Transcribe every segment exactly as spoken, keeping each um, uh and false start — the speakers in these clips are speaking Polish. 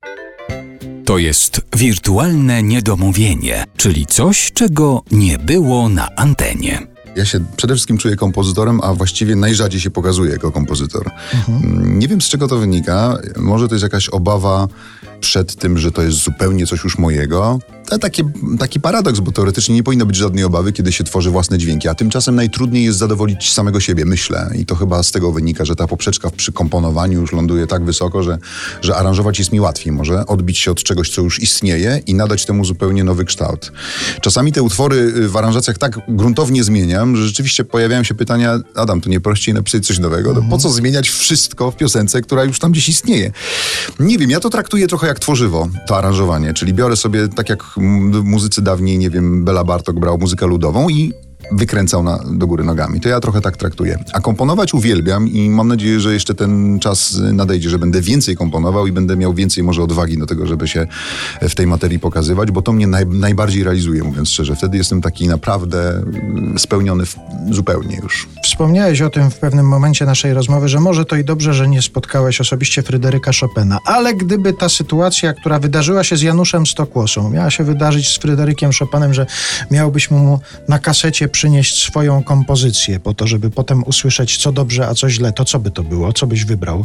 To jest wirtualne niedomówienie, czyli coś, czego nie było na antenie. Ja się przede wszystkim czuję kompozytorem, a właściwie najrzadziej się pokazuję jako kompozytor. Mhm. Nie wiem, z czego to wynika. Może to jest jakaś obawa przed tym, że to jest zupełnie coś już mojego. To taki, taki paradoks, bo teoretycznie nie powinno być żadnej obawy, kiedy się tworzy własne dźwięki, a tymczasem najtrudniej jest zadowolić samego siebie, myślę. I to chyba z tego wynika, że ta poprzeczka przy komponowaniu już ląduje tak wysoko, że, że aranżować jest mi łatwiej może, odbić się od czegoś, co już istnieje i nadać temu zupełnie nowy kształt. Czasami te utwory w aranżacjach tak gruntownie zmieniam, że rzeczywiście pojawiają się pytania: Adam, to nie prościej napisać coś nowego? To po co zmieniać wszystko w piosence, która już tam gdzieś istnieje? Nie wiem, ja to traktuję trochę jak tworzywo, to aranżowanie, czyli biorę sobie, tak jak muzycy dawniej, nie wiem, Bela Bartok brał muzykę ludową i wykręcał na, do góry nogami. To ja trochę tak traktuję. A komponować uwielbiam i mam nadzieję, że jeszcze ten czas nadejdzie, że będę więcej komponował i będę miał więcej może odwagi do tego, żeby się w tej materii pokazywać, bo to mnie naj, najbardziej realizuje, mówiąc szczerze. Wtedy jestem taki naprawdę spełniony w, zupełnie już. Wspomniałeś o tym w pewnym momencie naszej rozmowy, że może to i dobrze, że nie spotkałeś osobiście Fryderyka Chopina, ale gdyby ta sytuacja, która wydarzyła się z Januszem Stokłosą, miała się wydarzyć z Fryderykiem Chopinem, że miałbyś mu na kasecie przynieść swoją kompozycję po to, żeby potem usłyszeć, co dobrze, a co źle, to co by to było? Co byś wybrał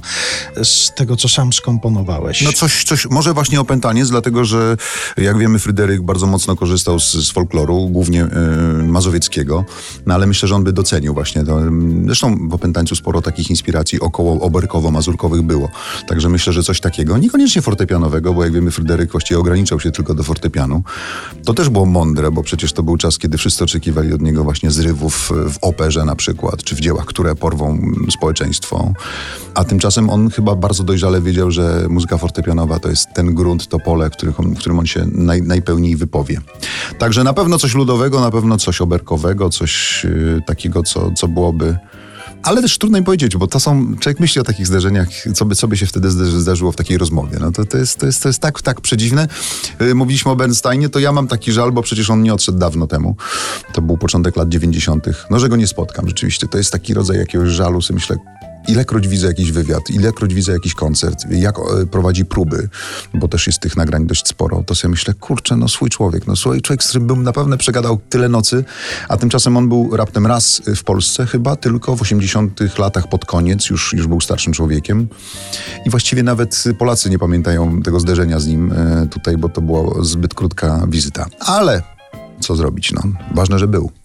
z tego, co sam skomponowałeś? No coś, coś może właśnie Opętaniec, dlatego że jak wiemy, Fryderyk bardzo mocno korzystał z, z folkloru, głównie yy, mazowieckiego, no ale myślę, że on by docenił właśnie to. Zresztą w Opętańcu sporo takich inspiracji około oberkowo-mazurkowych było. Także myślę, że coś takiego, niekoniecznie fortepianowego, bo jak wiemy, Fryderyk właściwie ograniczał się tylko do fortepianu. To też było mądre, bo przecież to był czas, kiedy wszyscy oczekiwali od niego właśnie zrywów w operze na przykład, czy w dziełach, które porwą społeczeństwo. A tymczasem on chyba bardzo dojrzale wiedział, że muzyka fortepianowa to jest ten grunt, to pole, w którym on, w którym on się naj, najpełniej wypowie. Także na pewno coś ludowego, na pewno coś oberkowego, coś yy, takiego, co, co byłoby... Ale też trudno mi powiedzieć, bo to są, człowiek myśli o takich zdarzeniach, co by, co by się wtedy zdarzyło w takiej rozmowie. No to, to, jest, to, jest, to jest tak, tak przedziwne. Yy, mówiliśmy o Bernsteinie, to ja mam taki żal, bo przecież on nie odszedł dawno temu. To był początek lat dziewięćdziesiątych. No, że go nie spotkam rzeczywiście. To jest taki rodzaj jakiegoś żalu, sobie myślę, ilekroć widzę jakiś wywiad, ilekroć widzę jakiś koncert, jak e, prowadzi próby, bo też jest tych nagrań dość sporo, to sobie myślę, kurczę, no swój człowiek, no swój człowiek, z którym bym na pewno przegadał tyle nocy, a tymczasem on był raptem raz w Polsce chyba, tylko w osiemdziesiątych latach pod koniec, już, już był starszym człowiekiem i właściwie nawet Polacy nie pamiętają tego zderzenia z nim e, tutaj, bo to była zbyt krótka wizyta. Ale co zrobić, no? Ważne, że był.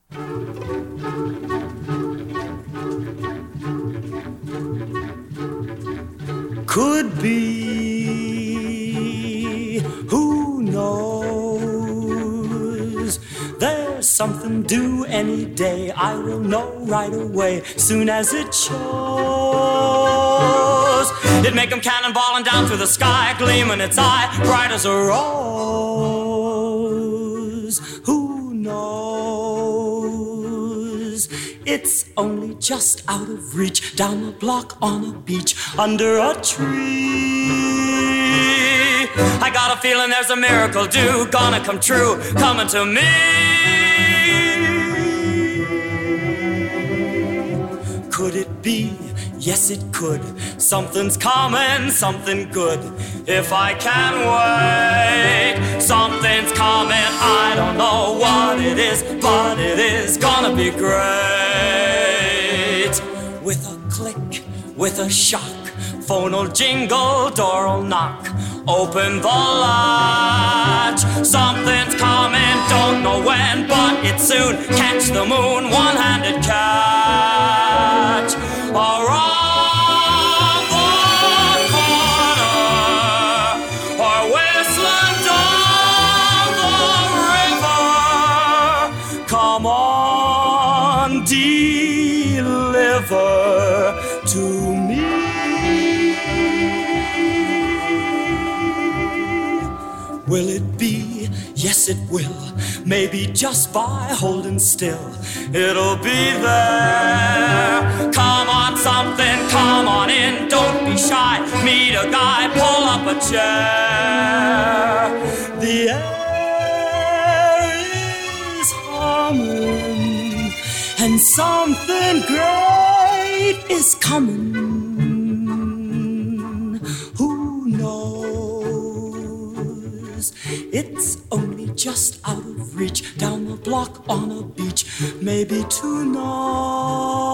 Could be, who knows? There's something due any day. I will know right away, soon as it shows. It'd make 'em cannonballing down through the sky, gleaming its eye, bright as a rose. Who knows? It's only just out of reach, down the block on a beach, under a tree. I got a feeling there's a miracle due, gonna come true, coming to me. Could it be? Yes, it could. Something's coming, something good. If I can wait, something's coming. I don't know what it is, but it is gonna be great. With a click, with a shock, phone'll jingle, door'll knock. Open the latch. Something's coming, don't know when, but it's soon. Catch the moon, one-handed catch. Around the corner, or whistling down the river. Come on, deliver to me. Will it be? Yes, it will. Maybe just by holding still, it'll be there. Come on, something, come on in. Don't be shy. Meet a guy, pull up a chair. The air is humming, and something great is coming. Who knows? 'cause it's only just out of reach, down the block on a beach, maybe tonight.